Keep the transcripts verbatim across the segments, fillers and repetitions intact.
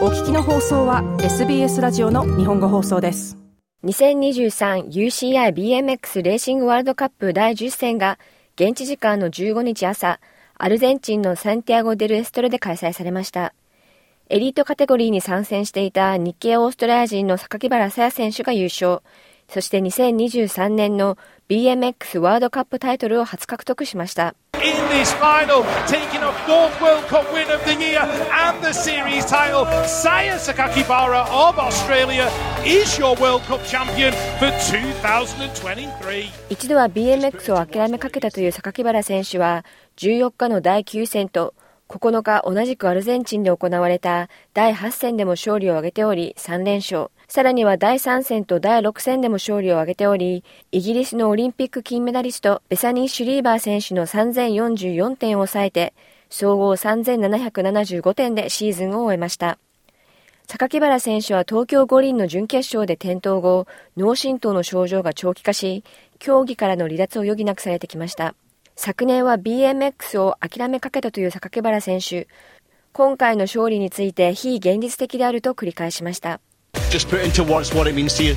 お聞きの放送は エスビーエス ラジオの日本語放送です。 にせんにじゅうさん ユーシーアイビーエムエックス レーシングワールドカップだいじゅっ戦が現地時間のじゅうごにち朝、アルゼンチンのサンティアゴ・デル・エストロで開催されました。エリートカテゴリーに参戦していた日系オーストラリア人の榊原紗耶選手が優勝。そしてにせんにじゅうさんねんの ビーエムエックス ワールドカップタイトルを初獲得しました。 In this final, taking a fourth World Cup win of the year and the series title, Saya Sakakibara of Australia is your World Cup champion for twenty twenty-three. 一度は ビーエムエックス を諦めかけたという榊原選手はじゅうよっかのだいきゅう戦とここのか同じくアルゼンチンで行われただいはち戦でも勝利を挙げておりさん連勝。さらにはだいさん戦とだいろく戦でも勝利を挙げており、イギリスのオリンピック金メダリストベサニー・シュリーバー選手のさんぜんよんじゅうよんてんを抑えて、総合さんぜんななひゃくななじゅうごてんでシーズンを終えました。榊原選手は東京五輪の準決勝で転倒後、脳震盪の症状が長期化し、競技からの離脱を余儀なくされてきました。昨年は ビーエムエックス を諦めかけたという榊原選手。今回の勝利について非現実的であると繰り返しました。 Just put into words what it means to you.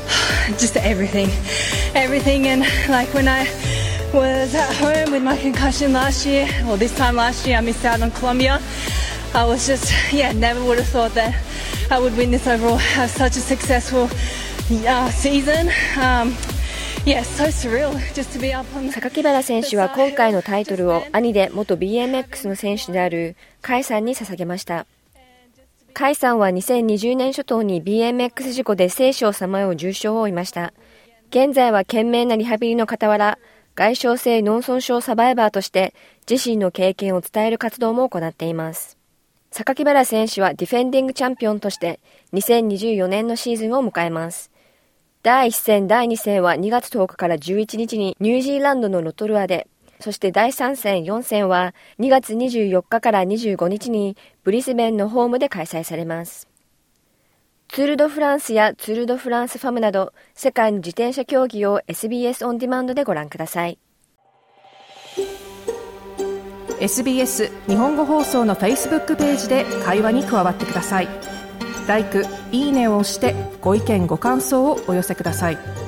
Just everything. Everything. And like when I was at home with my concussion last year, or this time last year, I missed out on Colombia. I was just, yeah, never would have thought that I would win this overall, have such a successful uh, season. Um,Yeah, so surreal just to be up on. 榊原選手は今回のタイトルを兄で元 ビーエムエックス の選手である甲斐さんに捧げました。甲斐さんはにせんにじゅうねん初頭に ビーエムエックス 事故で生死をさまよう重傷を負いました。現在は懸命なリハビリの傍ら、外傷性脳損傷サバイバーとして自身の経験を伝える活動も行っています。榊原選手はディフェンディングチャンピオンとしてにせんにじゅうよねんのシーズンを迎えます。だいいち戦、だいに戦はにがつとおかからじゅういちにちにニュージーランドのロトルアで、そしてだいさん戦、よん戦はにがつにじゅうよっかからにじゅうごにちにブリスベンのホームで開催されます。ツール・ド・フランスやツール・ド・フランスファムなど世界の自転車競技を エスビーエス オンディマンドでご覧ください。 エスビーエス 日本語放送の Facebook ページで会話に加わってください。ライク、いいねを押してご意見ご感想をお寄せください。